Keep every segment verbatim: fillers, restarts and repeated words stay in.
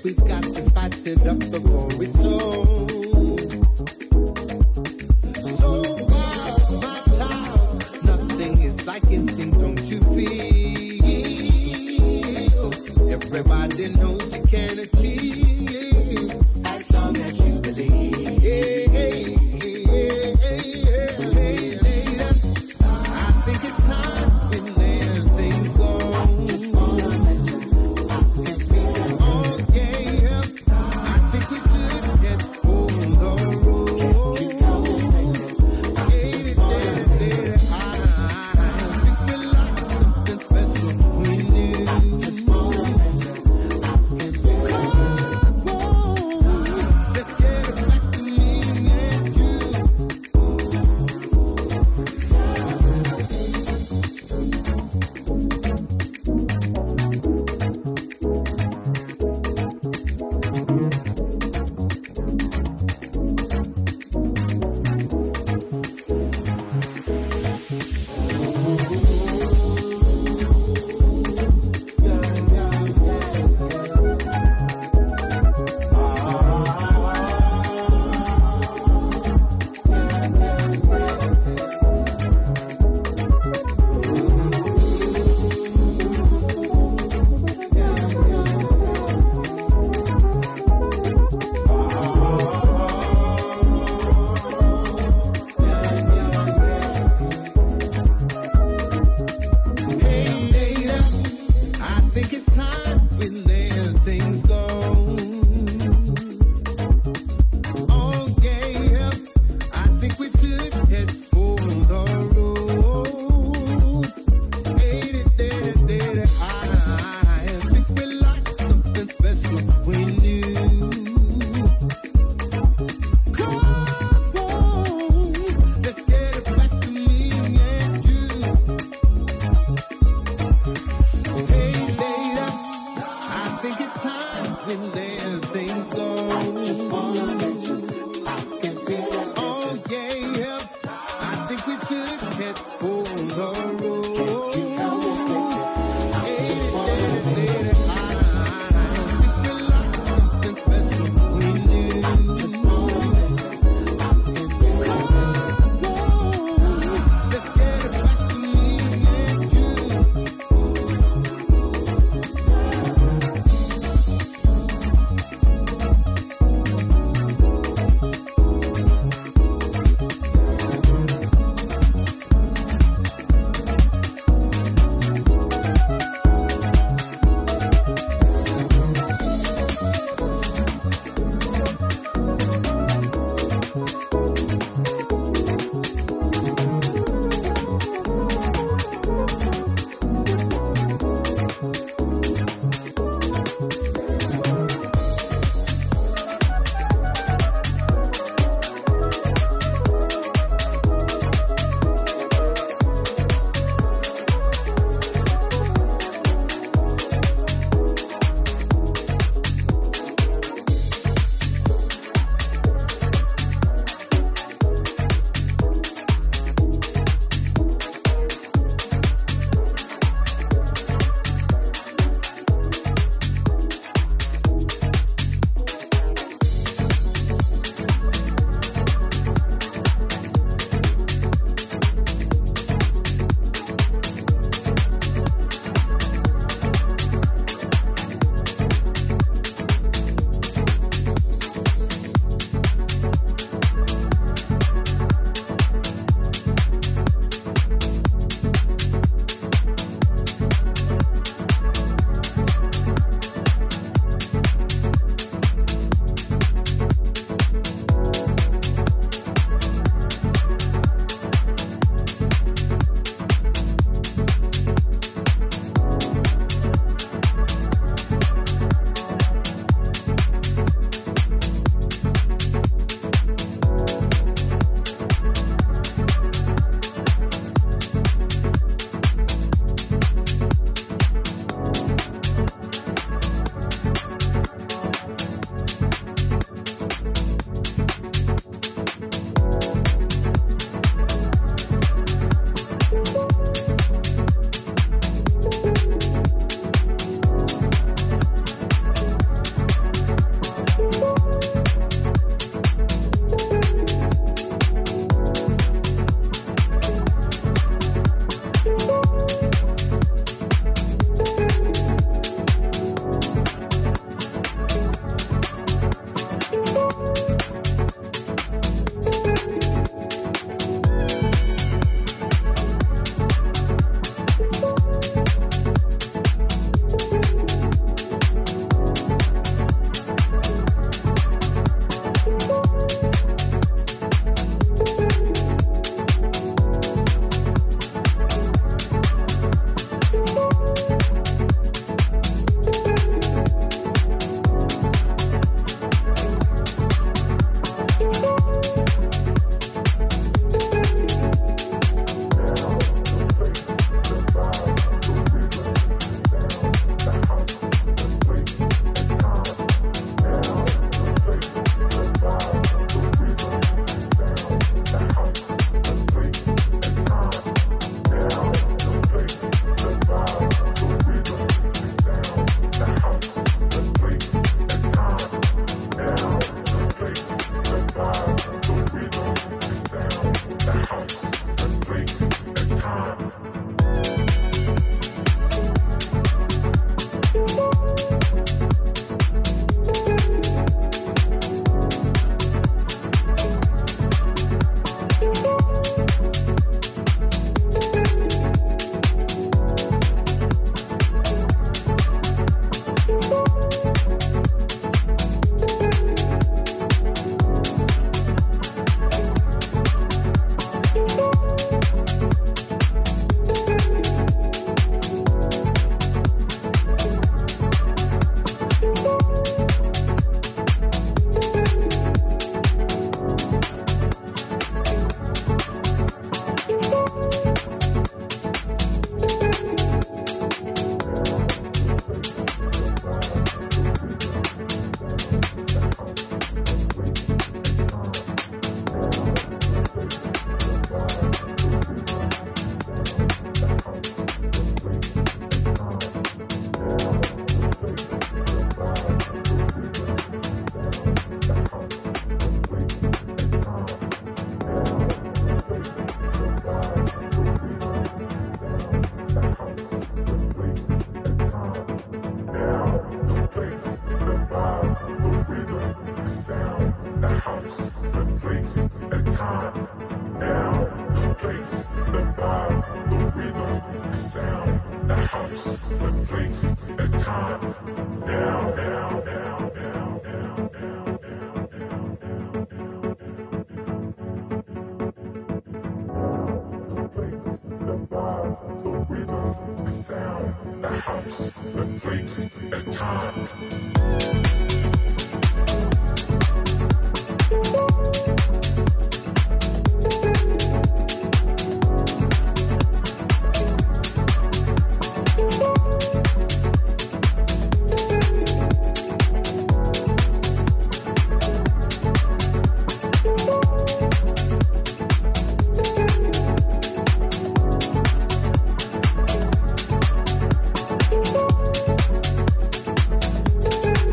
We've got to spice it up before it's on. So wild, my child, nothing is like instinct, don't you feel? Everybody knows you can achieve as long as you believe. Yeah, yeah, yeah, yeah, yeah. I think it's time we let things go. Oh yeah, I think we should get for the road. Yeah, yeah, yeah. I think we like something special we knew. Come on, let's get it back to me and you. Hey, later, I think it's time we let things go. Oh yeah, I think we should head for the road. Hey, later, later, I think we like something special we knew. Come on, let's get it back to me and you. Hey, later, I think it's time we let things go. Just wanna let you, I can feel it. Oh yeah, I think we should head for the road. Hey, later, later, I think we like something special we knew. Just wanna let you, I can feel it. Come on, let's get it back to me and you. Thank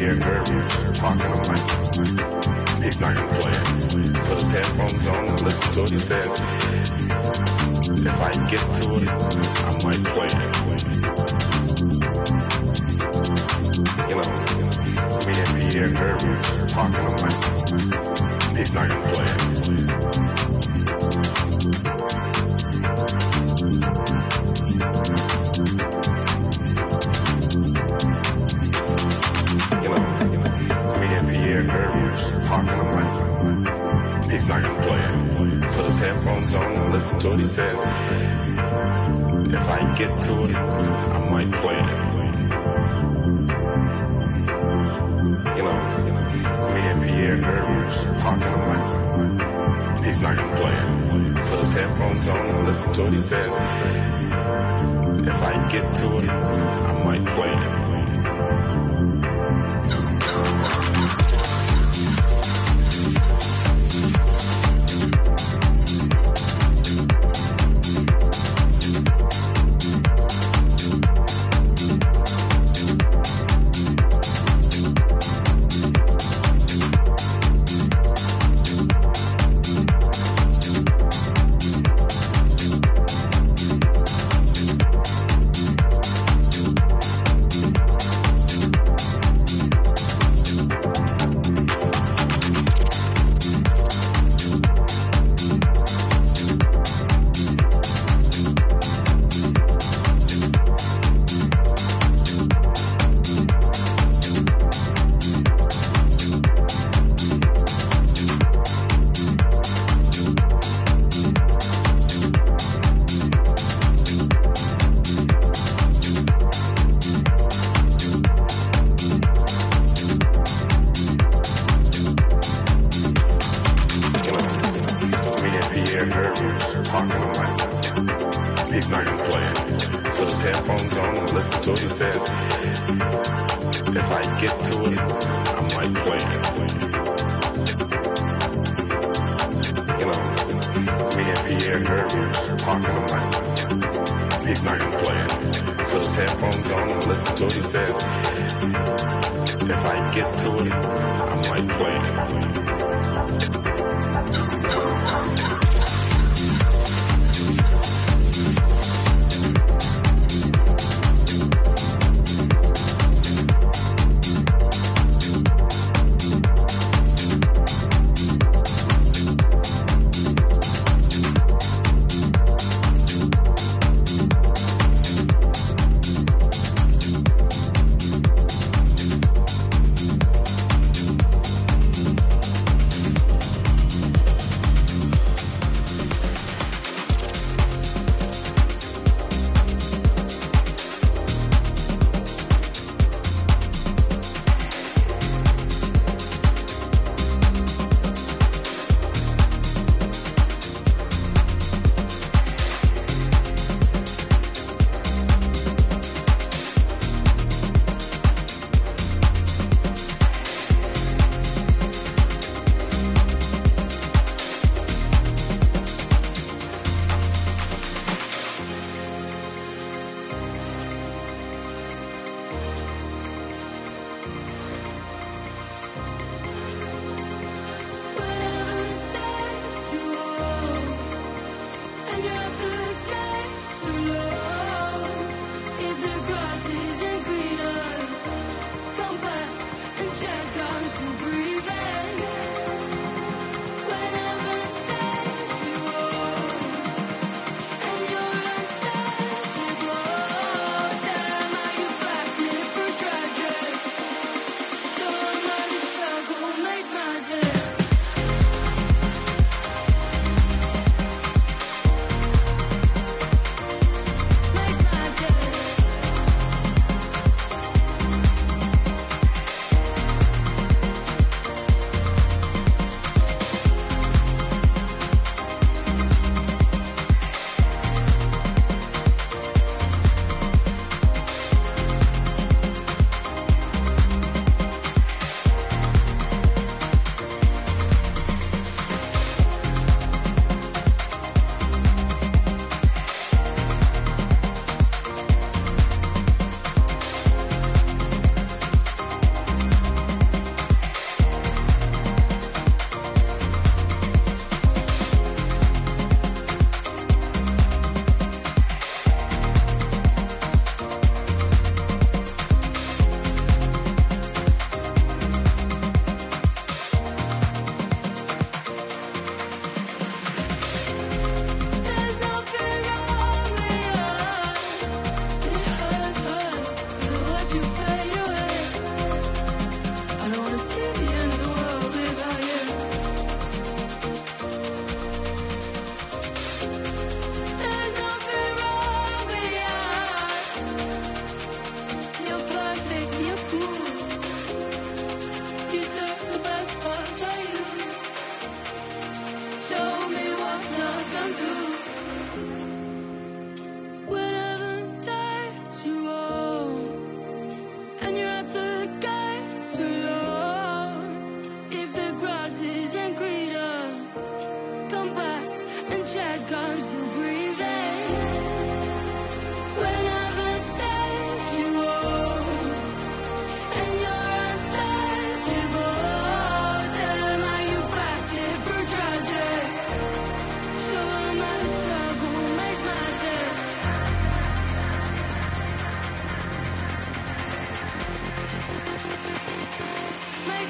Pierre Hermes talking. I'm like, he's not gonna play it. Put his headphones on and listen to it. He said, if I get to it, I might play it. You know, me and Pierre Hermes talking. I'm like, he's not gonna play it. Talking, I'm like, he's not gonna play it. Put his headphones on and listen to it. He said, if I get to it, I might play it. You know, me and Pierre Hermes talking, I'm like, he's not gonna play it. Put his headphones on and listen to it. He said, if I get to it, I might play it.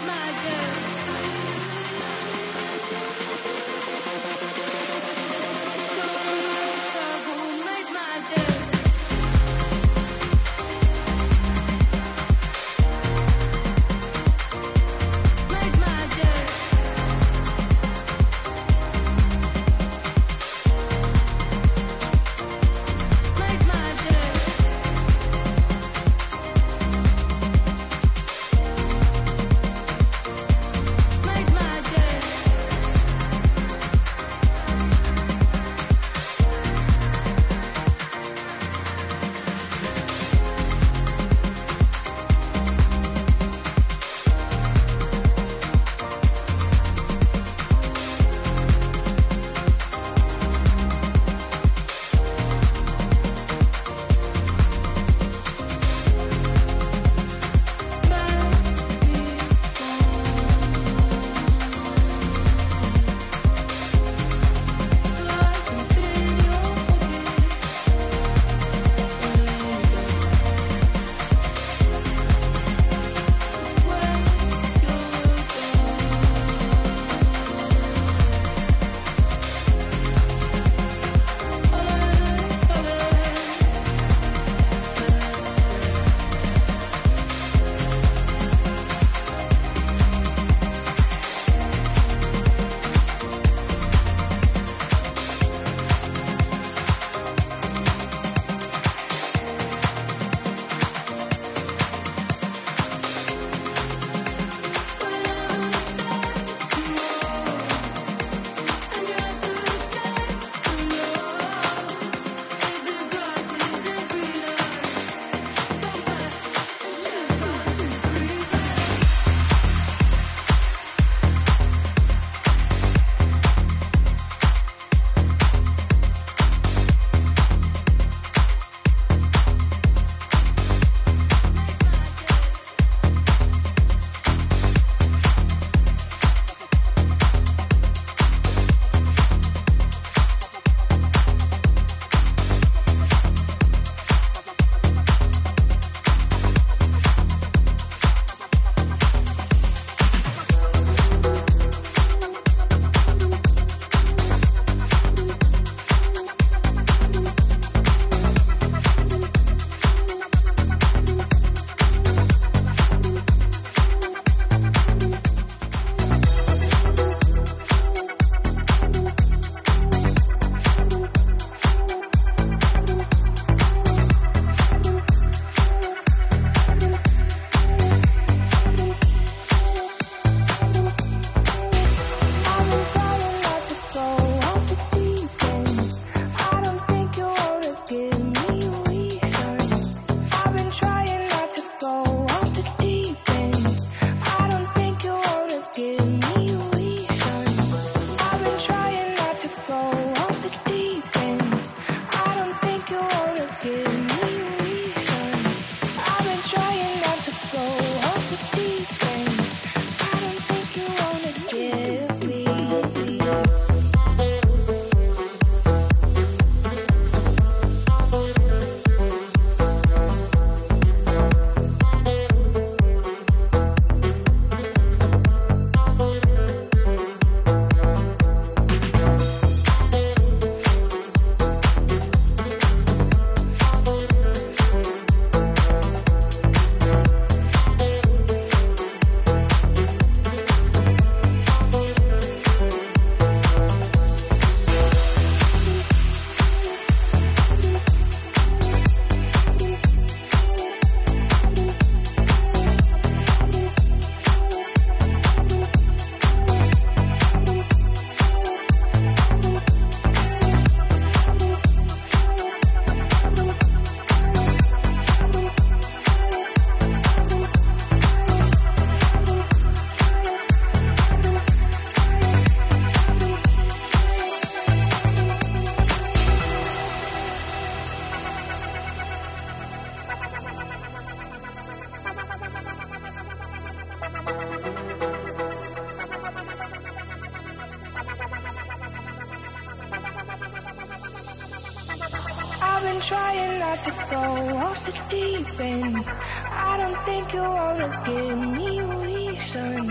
trying not to go off the deep end. I don't think you wanna give me a reason.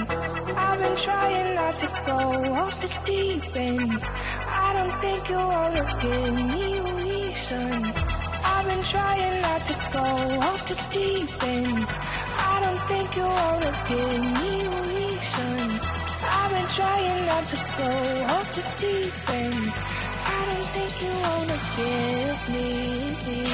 end. I've been trying not to go off the deep end. I don't think you wanna give me a reason. I've been trying not to go off the deep end. I don't think you wanna give me a reason. I've been trying not to go off the deep end. I don't think you wanna give me.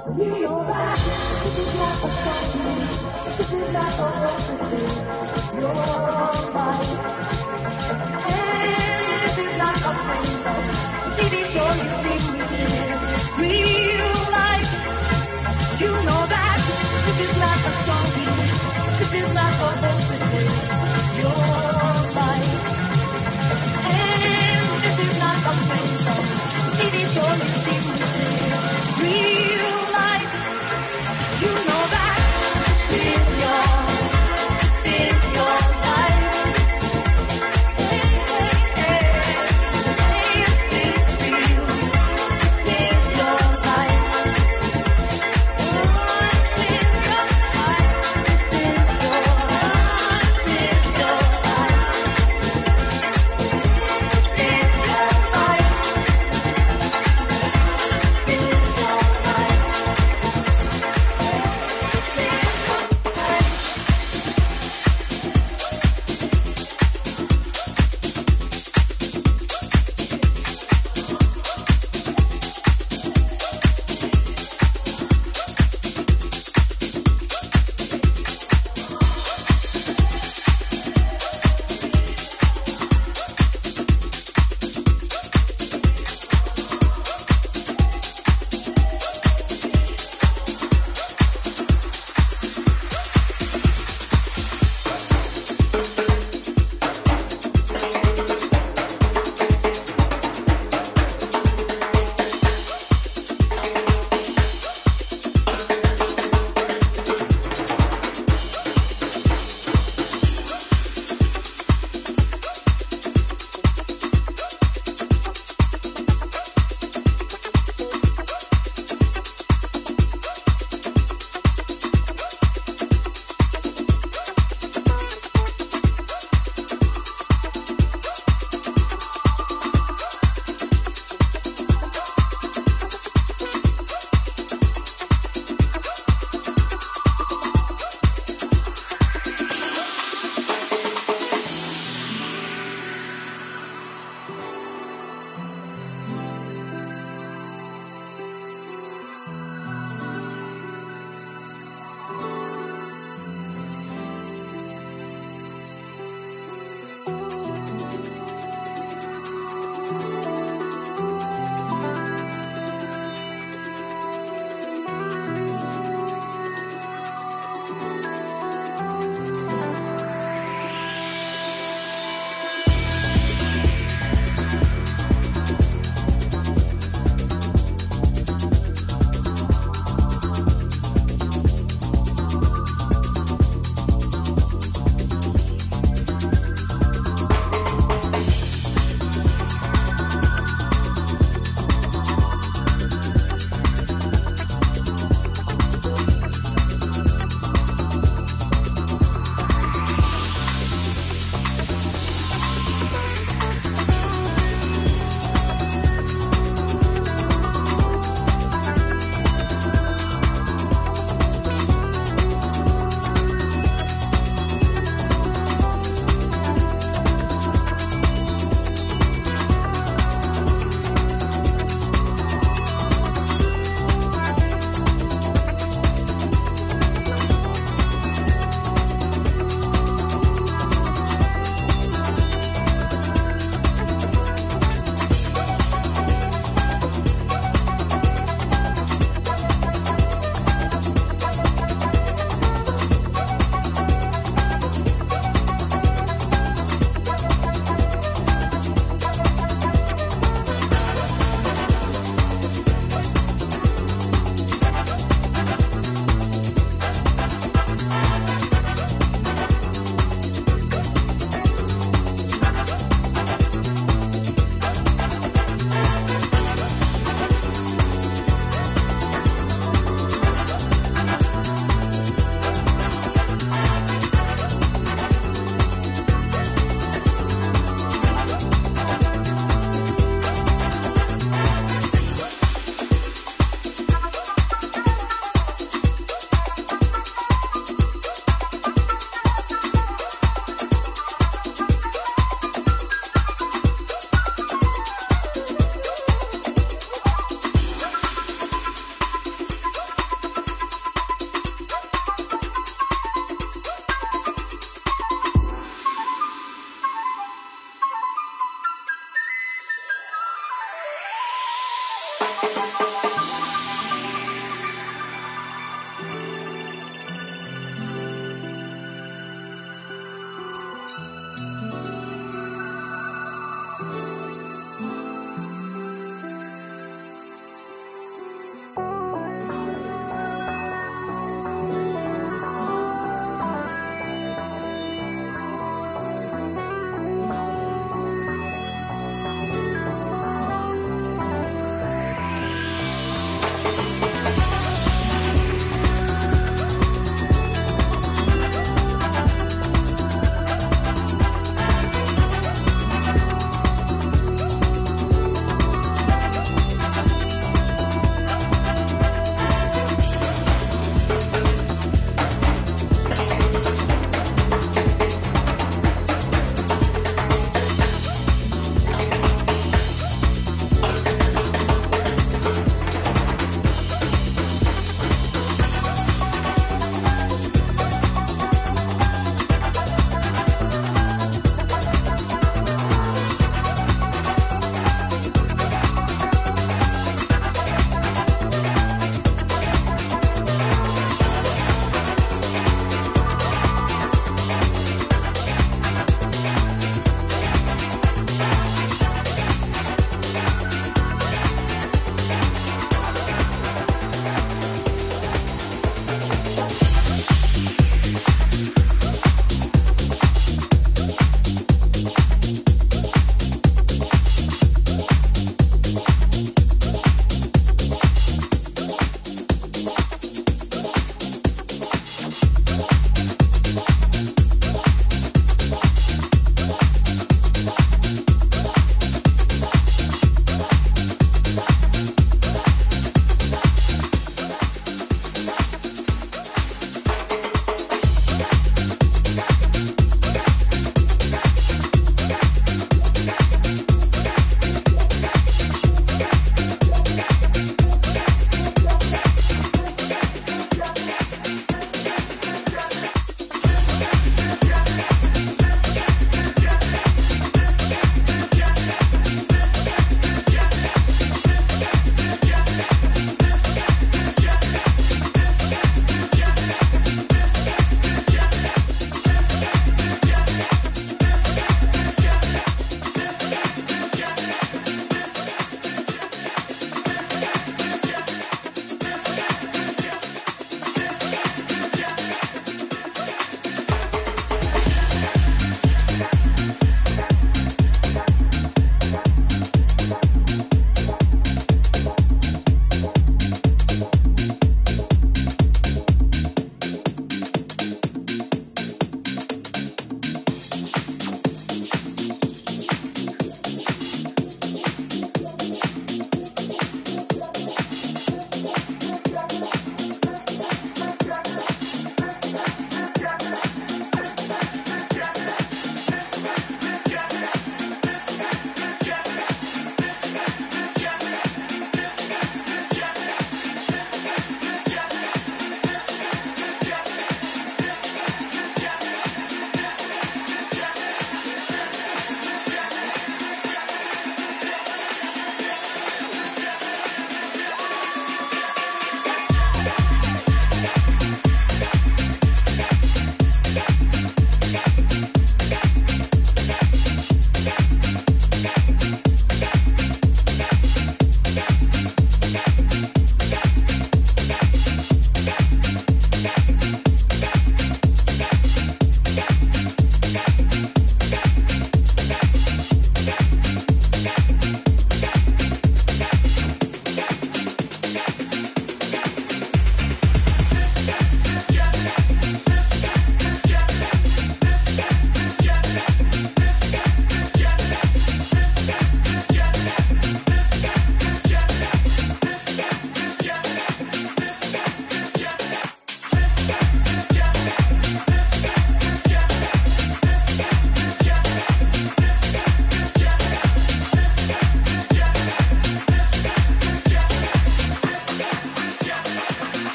This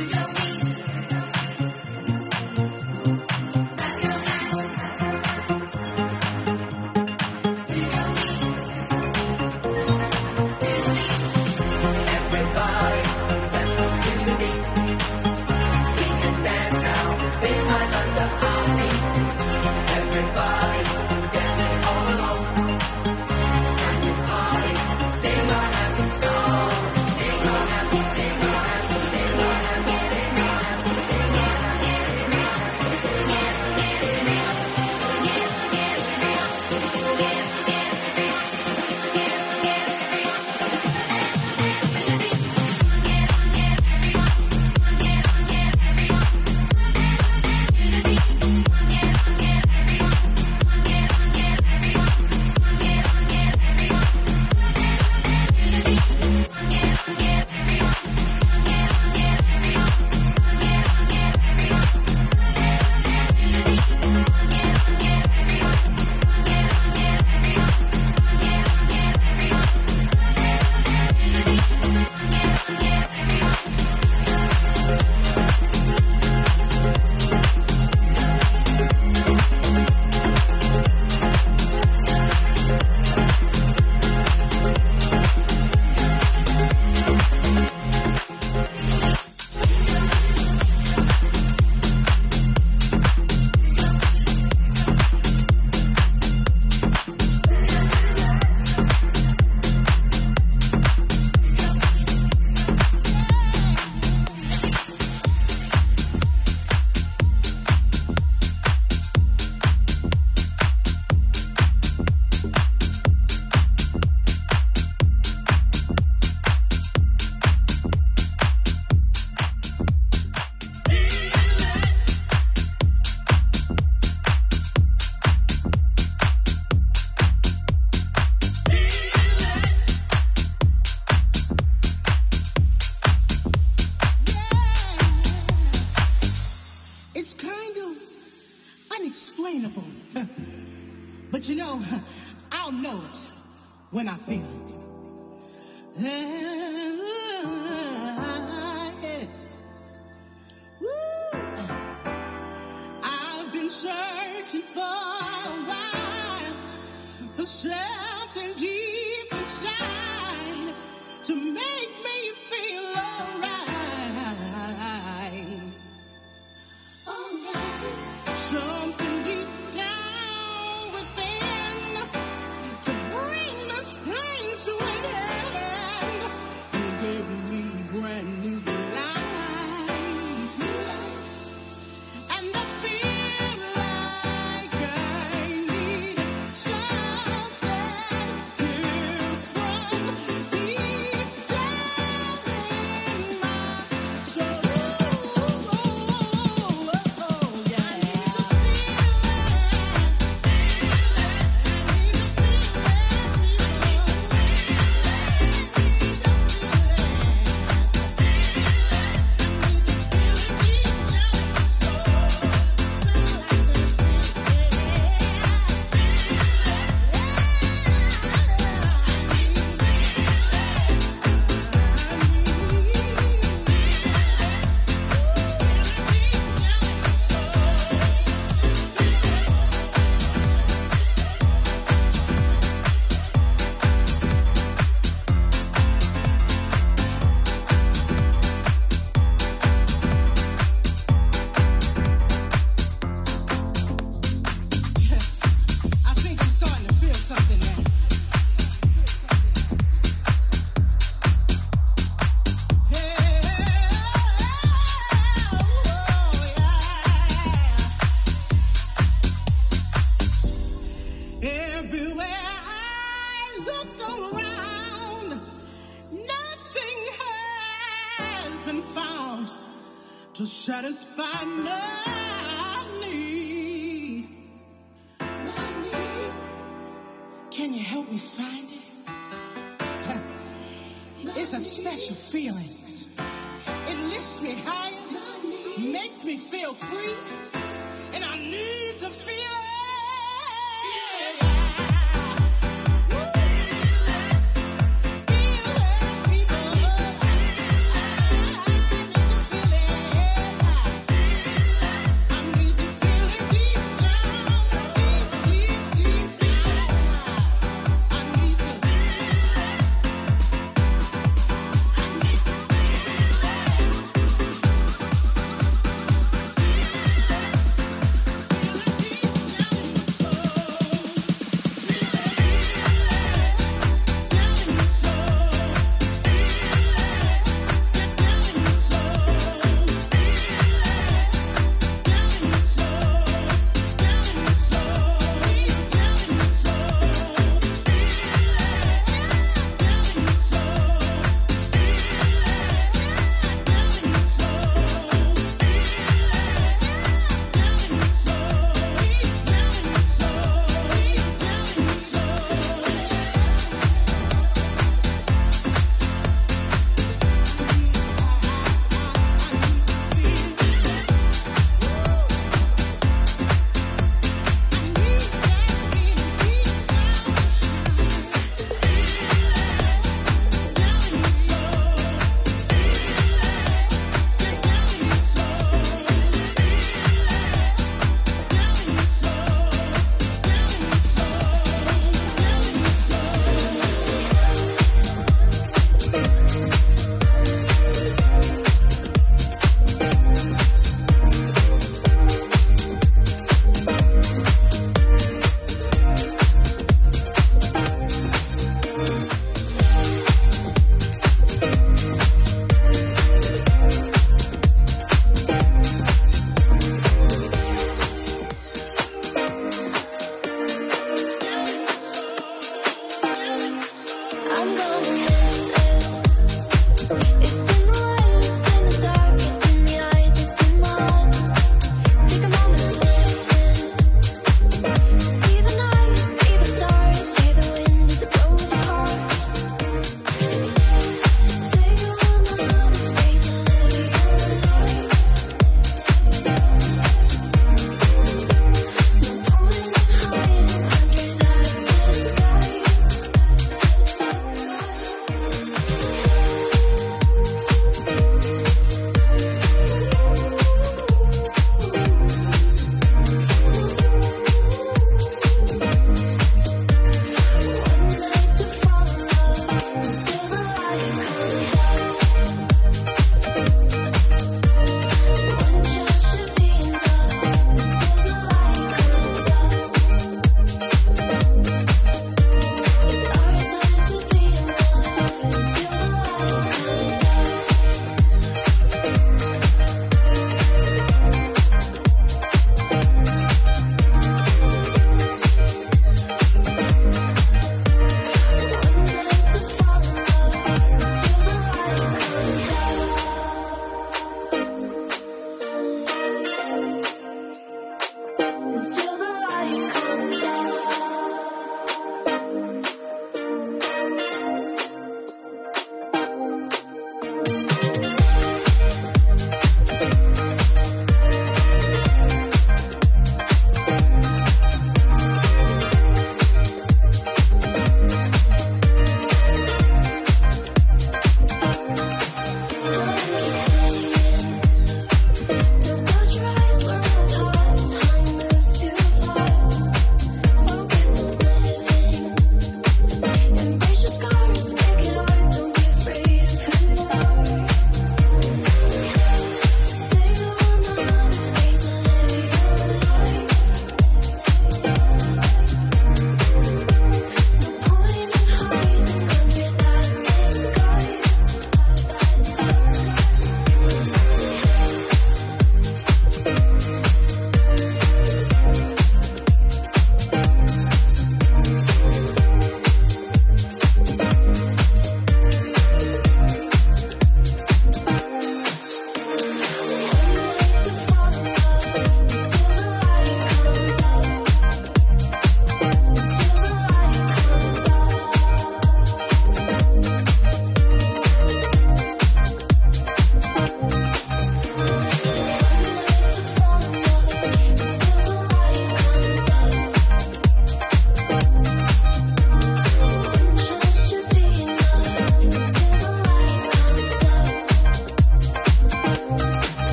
unexplainable. But you know, I'll know it when I feel it. I've been searching for a while for something deep inside to make me feel alright. Alright. Something deep down within to bring this pain to an end and give me brand new life. And I feel like I need something different deep down in my soul. Yeah. I need to I think I'm starting to feel something now. Everywhere I look around, nothing has been found to satisfy my need. My need. Can you help me find it? Huh. It's a special feeling. It lifts me higher, makes me feel free, and I need to feel it. Woo. Feel it, people. I need to feel it.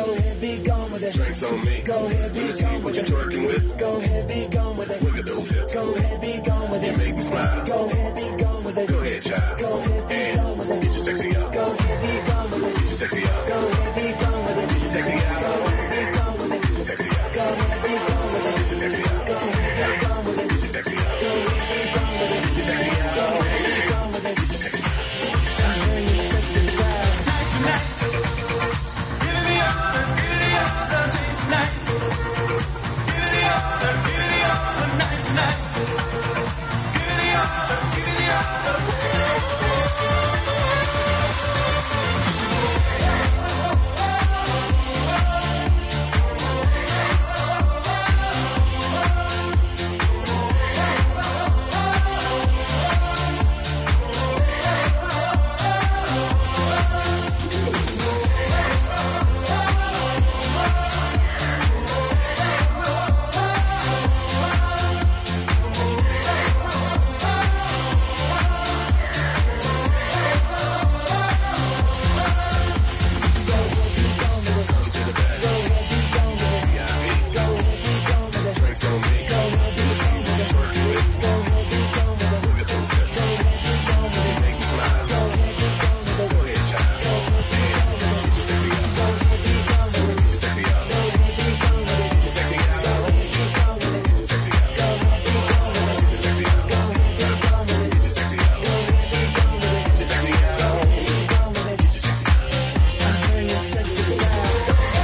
Go ahead, be gone with it. Drinks on me. Go ahead, be Let me see gone what with you're it. twerking with. Go ahead, be gone with it. Look at those hips. Go ahead, be gone with You it. make me smile. Go ahead, be gone with it. Go ahead, child. Go ahead, be gone with And it. get your sexy up. Go ahead, be gone with it. Get your sexy up. Go ahead, be gone with it. Get your sexy up. Go ahead, be gone with it. Get your sexy up. Go ahead, be gone with it. Get your sexy up. Go ahead, be gone with it. Get your sexy up. Go ahead, be gone with it. Get your sexy up. Go ahead, be gone with it. Get your sexy up. I'm hearing you sexy vibe. Night tonight. Give it the other, give it the other taste tonight. Give it the other, give it the other night tonight. Give it the other, give it the other. Drinks on me. Let me see what you're twerking with. Look at those hips. You make me smile. Go ahead, child. And get your sexy up. Get your sexy up. Get your sexy up. Get your sexy up. Get your sexy up. Get your sexy up. Get your sexy up. Get your sexy up. I'm hearing you sexy vibe.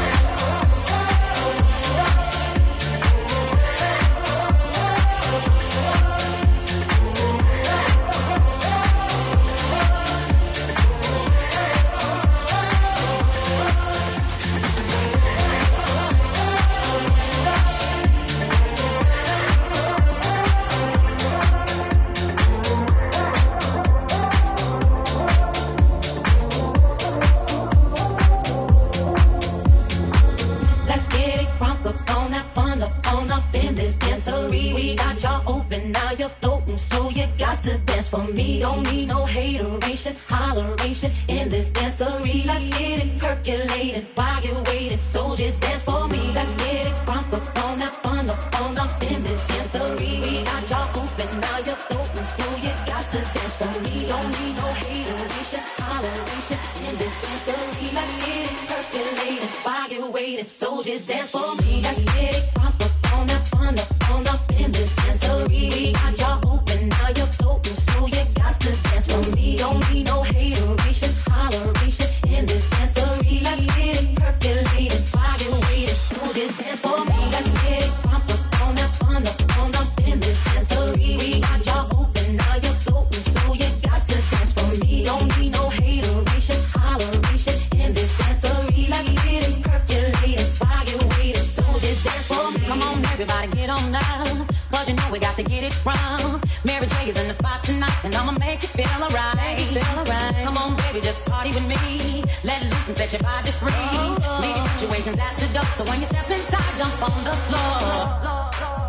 Let's get it crunk up on that fun up on up in this dancery. We got y'all open, now you're floating, so you got to dance for me. Don't need no hateration, holleration in this dancery. Let's get it percolated while you're waiting, so just dance for me. Let's get it crunk up on that fun up on up in this dancery. We got y'all open, now you're floating, so you got to dance for me. Don't need no hateration, holleration in this dancery. Let's get it percolated while you're waiting, so just dance for me. Let's get it crunk up on that fun up on up in this dancery. We got y'all open, now you're floating, so you got to dance for me. Don't need no hateration, holleration in this dancery. Let's get it percolated while you're waiting, so just dance for me. Let's get it crunk up on that fun up on up in this dancery. We got y'all open, now you're floating, so you got to dance for me. Don't need no hateration, holleration in this dancery. Let's get it percolated while you're waiting, so just dance for me. Come on, everybody, get on now, cause you know we got to get it wrong. Mary J is in the spot tonight, and I'ma make you feel alright. Feel alright. Come on, baby, just party with me. Let loose and set your body free. Oh. Leave your situations at the door, so when you step inside, jump on the floor.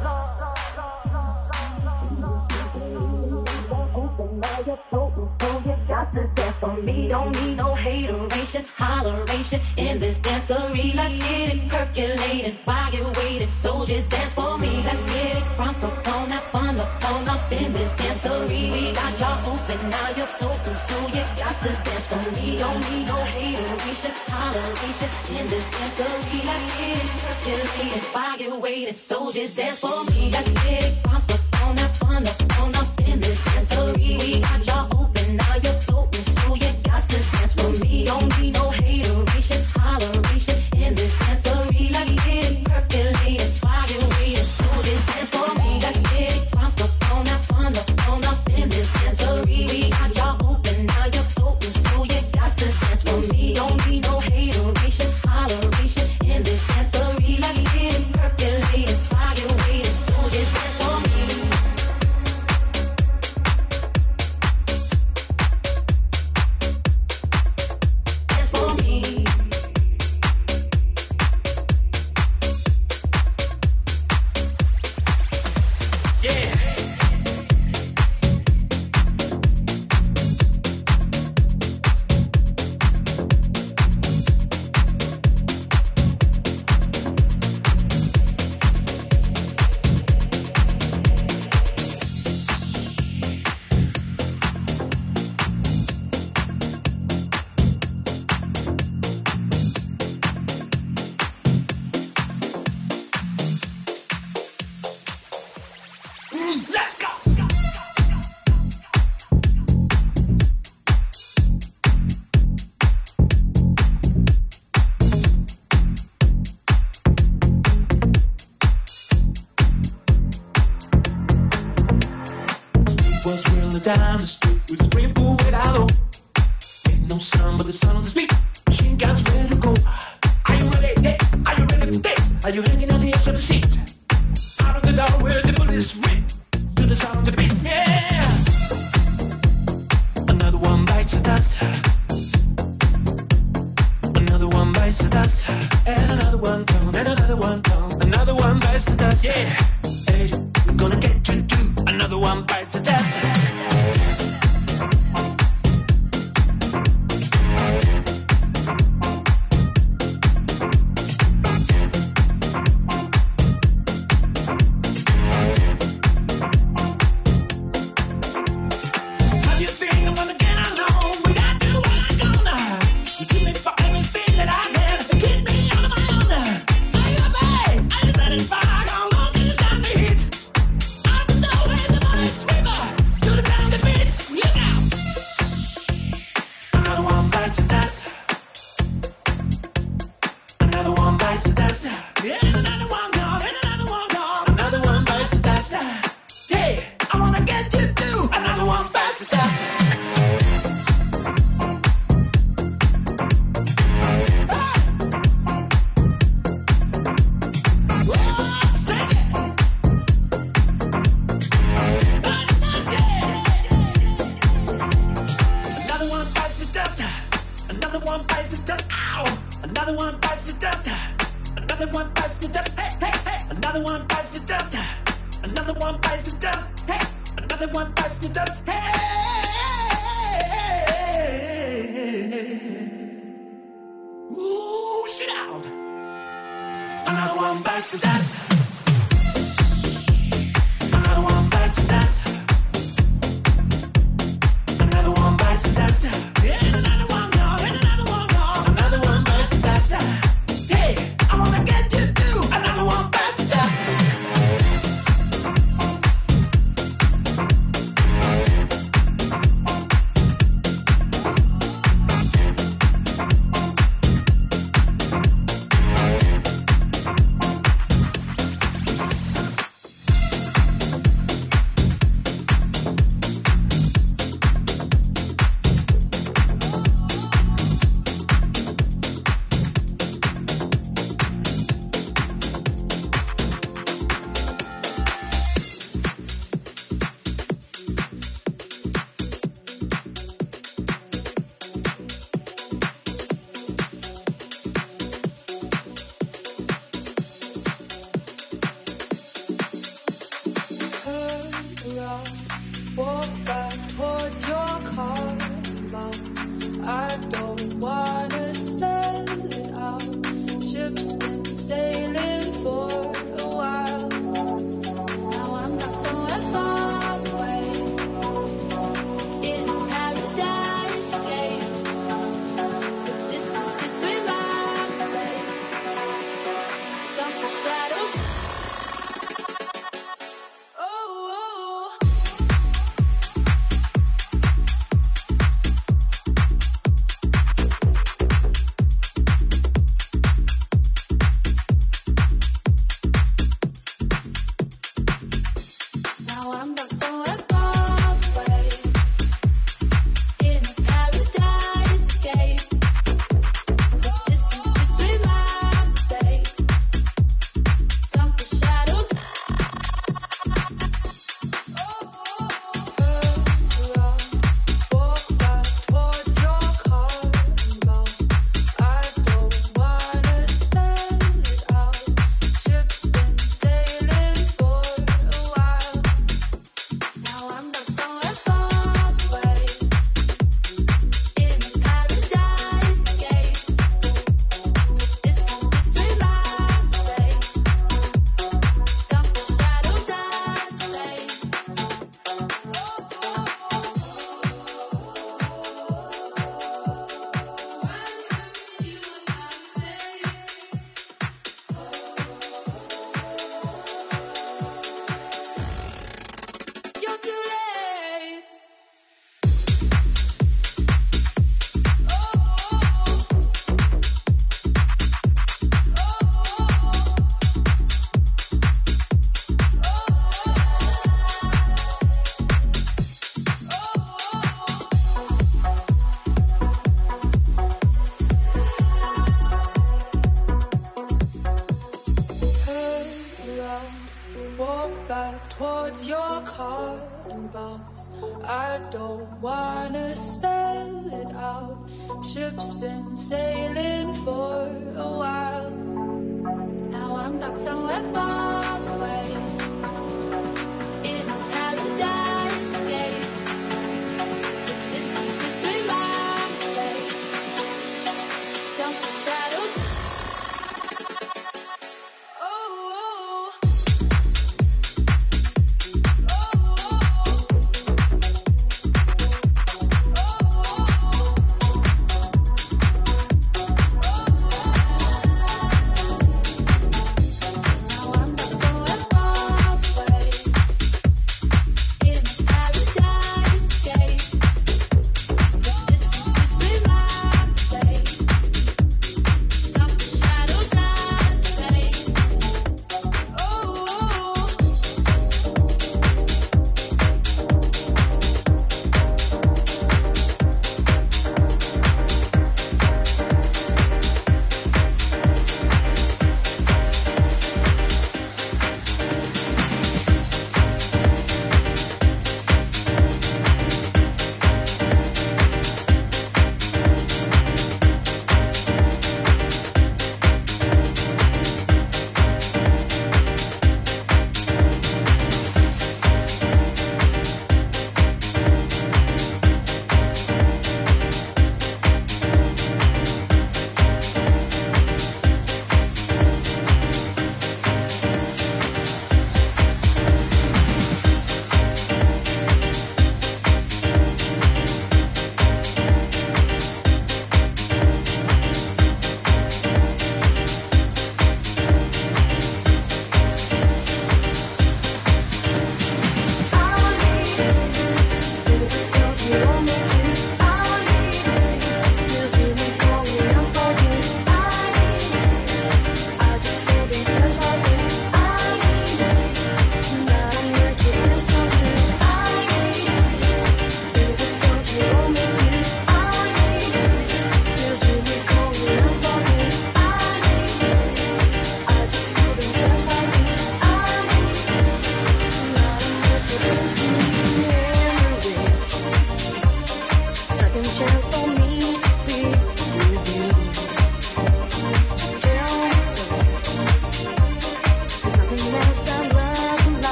So you got to dance for me. Don't need no hateration, holleration in this dancery. Let's get it percolated while you're waiting, so just dance for me. Let's get it crunk up on that fun up on up in this dancery. We got y'all open, now you're floating, so you got to dance for me. Don't need no hateration, holleration in this dancery. Let's get it percolated while you're waiting, so just dance for me. Let's get it crunk up on that fun up on up in this dancery. We got y'all open, now you're floating, so you got to dance for me. Don't need no hateration, holleration in this dancery. Let's get it percolated while you're waiting, so just dance for me. Let's get it crunk up on that fun up on up in this dancery. We got y'all open, now you're floating, so you got to dance for me. Don't need no hateration, holleration in this dancery. Let's get it percolated while you're waiting, so just dance for me. Dance for me. was really down the street with a swimming pool without low. Ain't no sun but the sun on the street. Machine guns ready to go. Are you ready? Yeah. Are you ready for this? Are you hanging on the edge of the seat? Out of the door where the police rip to the sound of the beat. Yeah. Another one bites the dust. Another one bites the dust. And another one come. And another one come. Another one bites the dust. Yeah. Hey, we're gonna get you too. Another one bites the dust. towards your car and bounce. I don't wanna spell it out. Ship's been sailing for a while. Now I'm stuck somewhere far away in a paradise escape. The distance between my legs, selfish shadows. I'm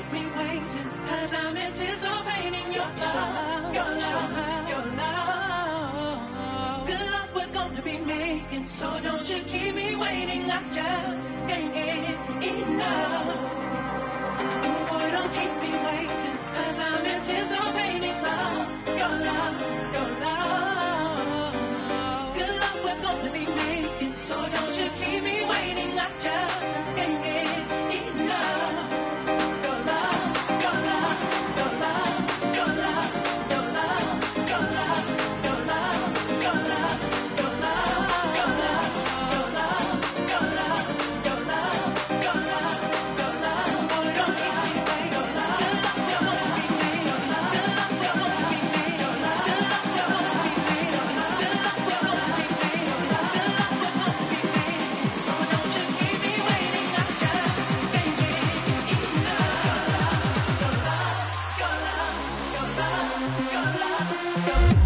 keep me waiting, cause I'm anticipating your love, your love, your love. Good love we're gonna be making, so don't you keep me waiting, I just can't get enough. Oh boy, don't keep me waiting, cause I'm anticipating love, your love, your love. Good love we're gonna be making, so don't you keep me waiting, I just can't get enough. Your love, your love, your love, your love, your love, your love, your love, your love, your love, your love, your love, your love, your love, your love, your love. Boy, don't keep me waiting. Your love, your love, your love, your love, your love, your love, your love, your love, your love, your love, your love, your love, your love, your love, your love. So don't you keep me waiting, I just can't get enough. Your love, your love, your love, your love, your love.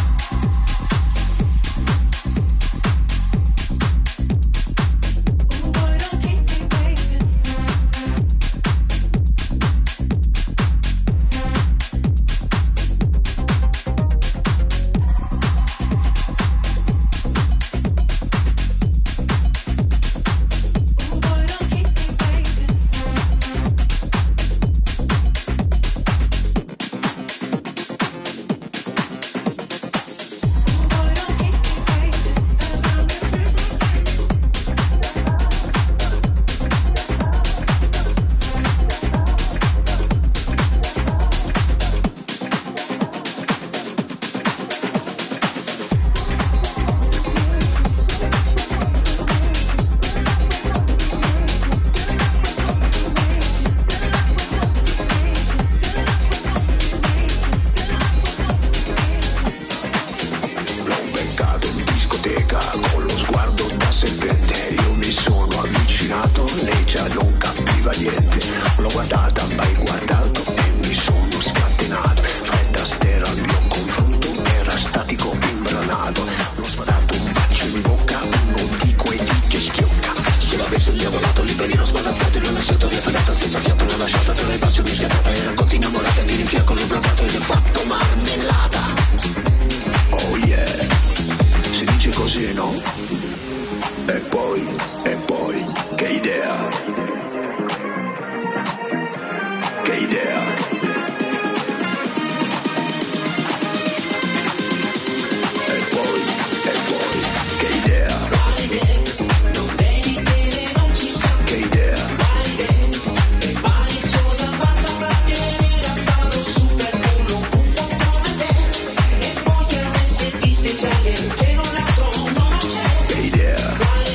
Ooh, boy, don't keep me waiting. Ooh, boy, don't keep me waiting. Ooh, boy, don't keep me waiting, 'cause I'm anticipating. L'ho beccato in discoteca con lo sguardo da serpente. Io mi sono avvicinato, lei già non capiva niente. L'ho guardata, mai guardato e mi sono scatenato. Fred Astaire al mio confronto era statico imbranato. L'ho sparato un bacio in bocca, uno di quelli che schiocca. Se l'avessi diavolato lì per lì l'ho sbalazzato e l'ho lasciato via fedata senza fiato. L'ho lasciata tra le passi mi scattata. E racconti innamorata di rinfiacco l'ho bloccato e gli ho fatto marmellata. Oh yeah, si dice così, no? E poi, e poi, che idea? Che idea? E poi, e poi, che idea? Che idea? Che idea?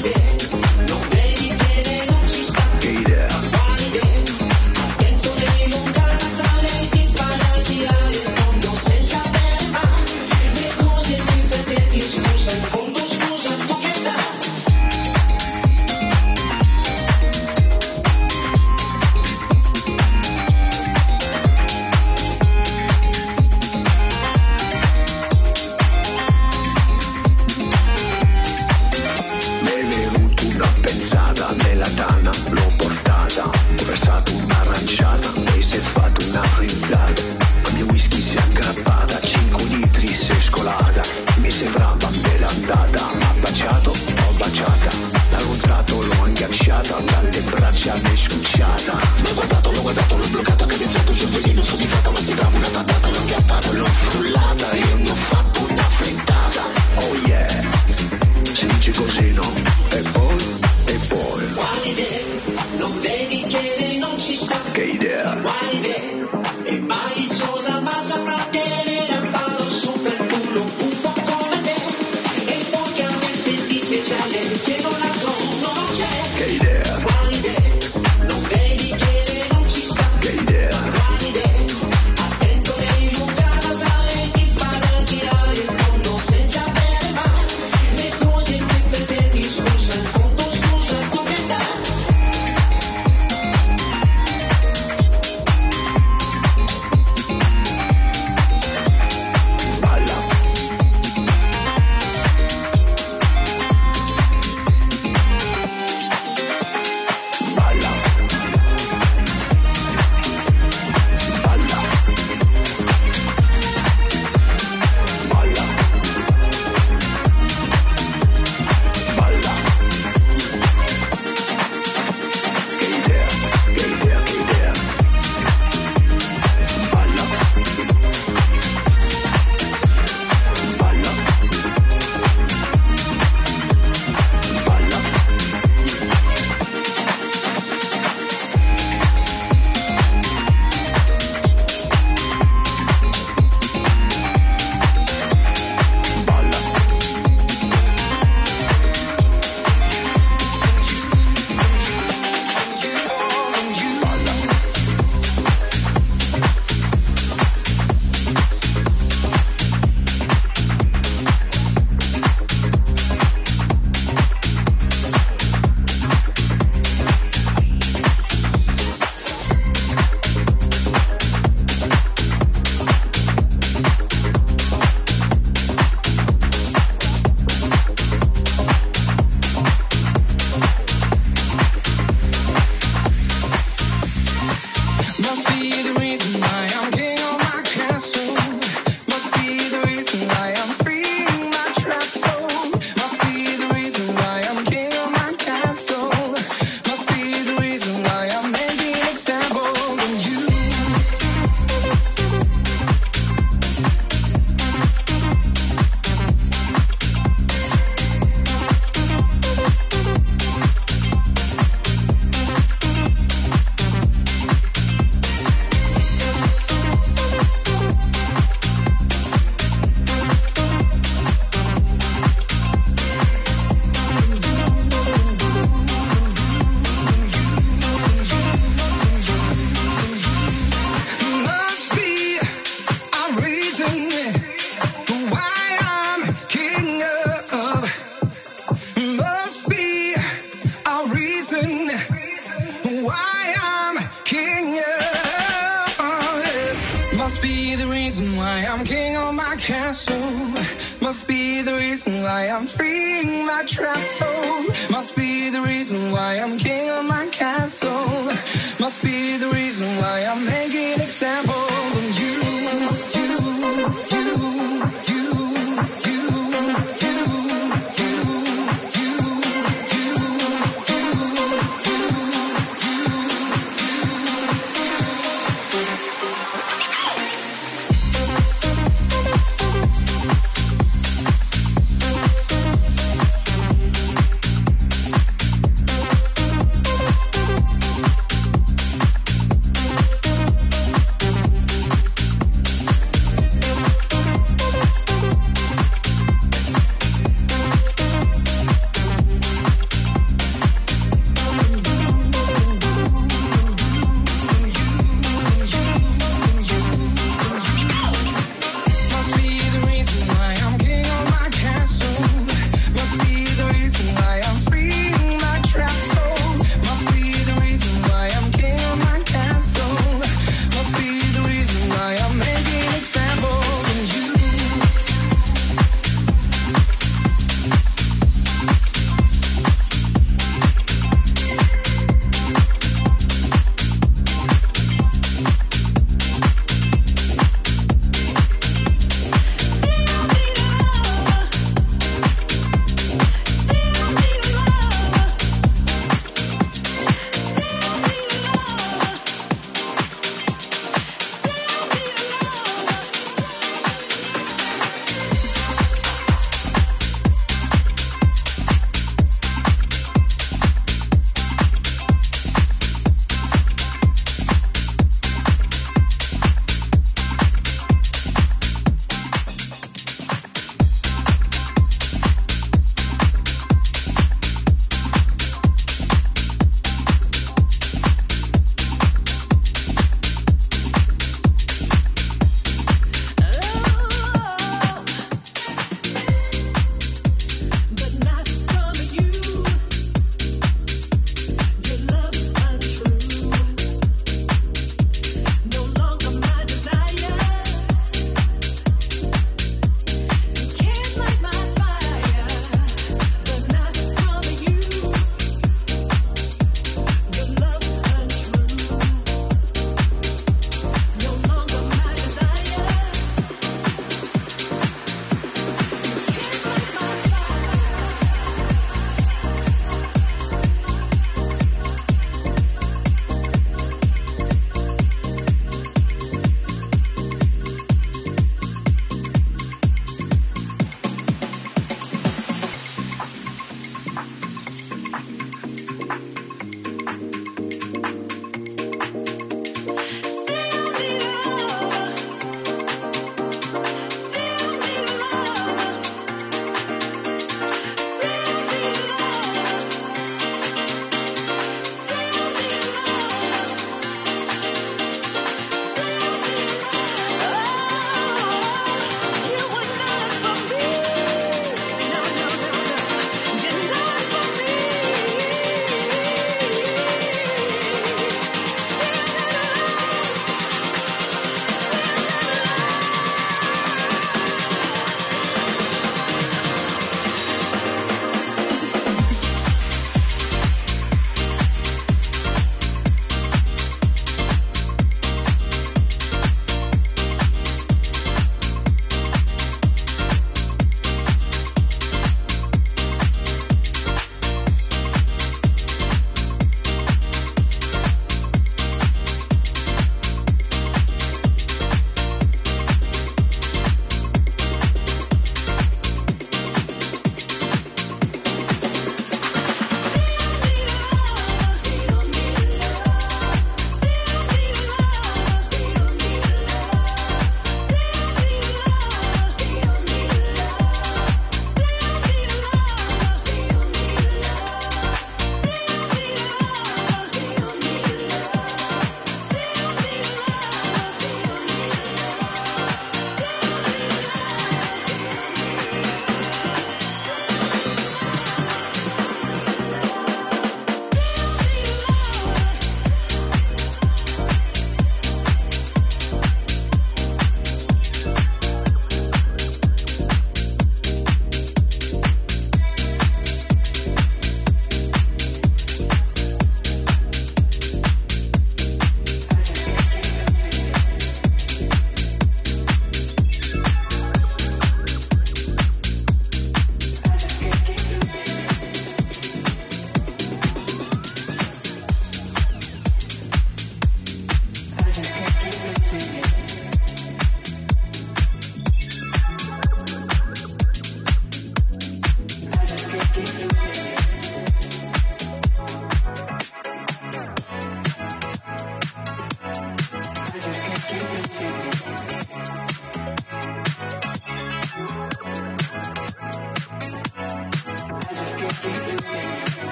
Che idea? Mi è venuta una pensata nella tana, l'ho portata, ho versato un'aranciata e si è fatta una frizzata. Al mio whisky si è aggrappata, cinque litri si è scolata. Mi sembrava bella andata, m'ha baciato, l'ho baciata. L'ho incontrato, l'ho agganciata, dalle braccia mi è scucciata. L'ho guardato, l'ho guardato, l'ho bloccato, ho cadenzato il suo visino soddisfatto, ma sembrava una patata. L'ho aggrappato, l'ho frullata e mi ho fatto una frittata. Oh yeah, si dice così, no? E poi, e poi. Non vedi che lei non ci sta. Che idea? E mai sosa ma saprà tenere a palo super culo buffo come te. E poi avresti di speciale che non la conosce. Che idea? Non vedi che lei non ci sta. Che idea? Attento nei lunghi sale ti farà girare il mondo senza bere mai. Le cose che per te ti scusa, in fondo scusa come dai. Must be the reason why I'm king of my castle. Must be the reason why I'm freeing my trapped soul. Must be the reason why I'm king of my castle. Must be the reason why I'm making examples of you.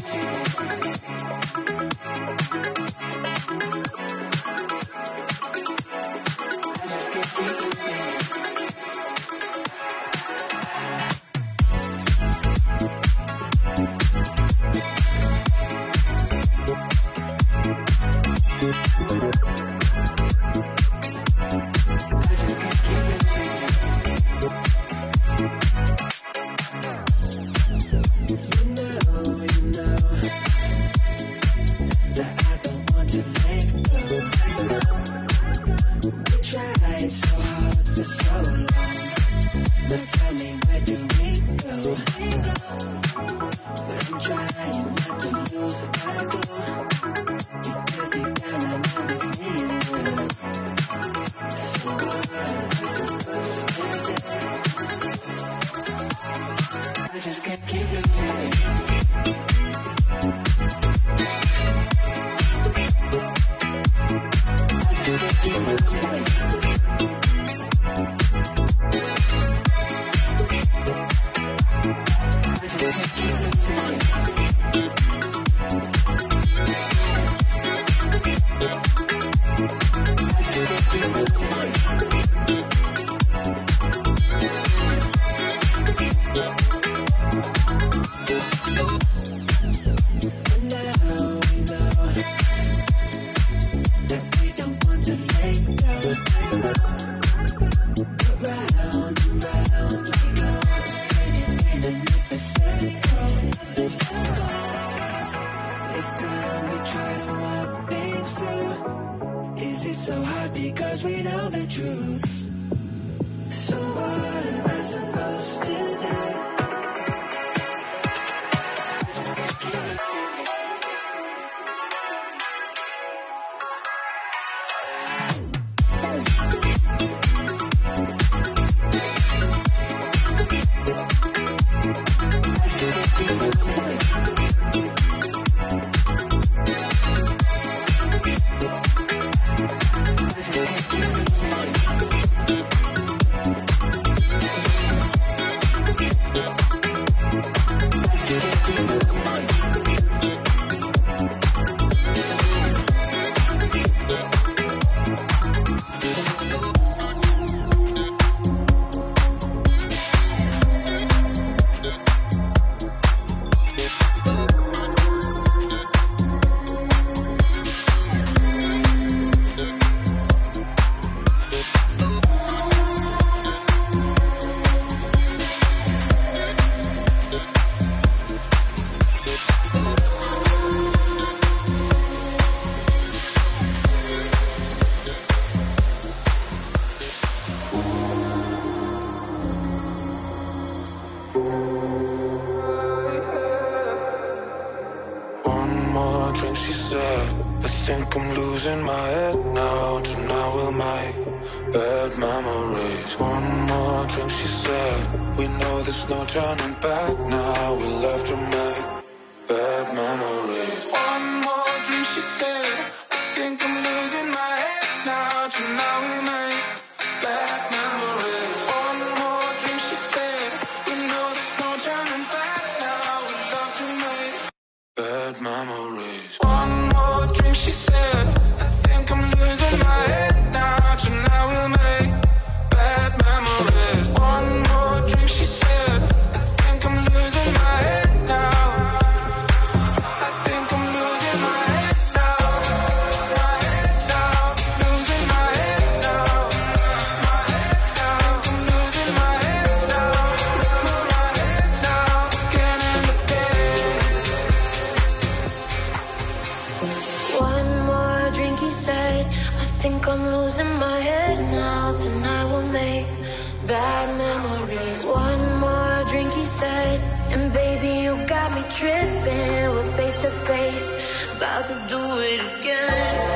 Tripping, we're face to face, about to do it again.